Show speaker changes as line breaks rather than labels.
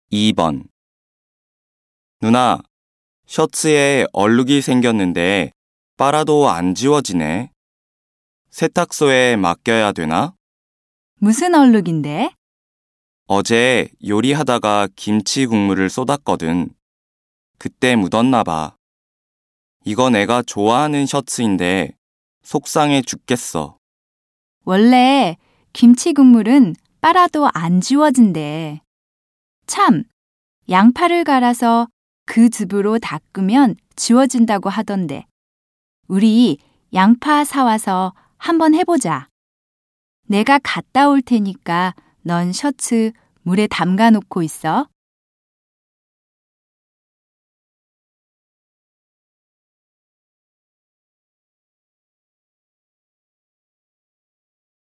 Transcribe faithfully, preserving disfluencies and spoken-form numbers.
이 번. 누나, 셔츠에 얼룩이 생겼는데 빨아도 안 지워지네. 세탁소에 맡겨야 되나?
무슨 얼룩인데?
어제 요리하다가 김치 국물을 쏟았거든. 그때 묻었나 봐. 이거 내가 좋아하는 셔츠인데 속상해 죽겠어.
원래 김치 국물은 빨아도 안 지워진대. 참, 양파를 갈아서 그 즙으로 닦으면 지워진다고 하던데. 우리 양파 사와서 한번 해보자. 내가 갔다 올 테니까 넌 셔츠 물에 담가 놓고 있어.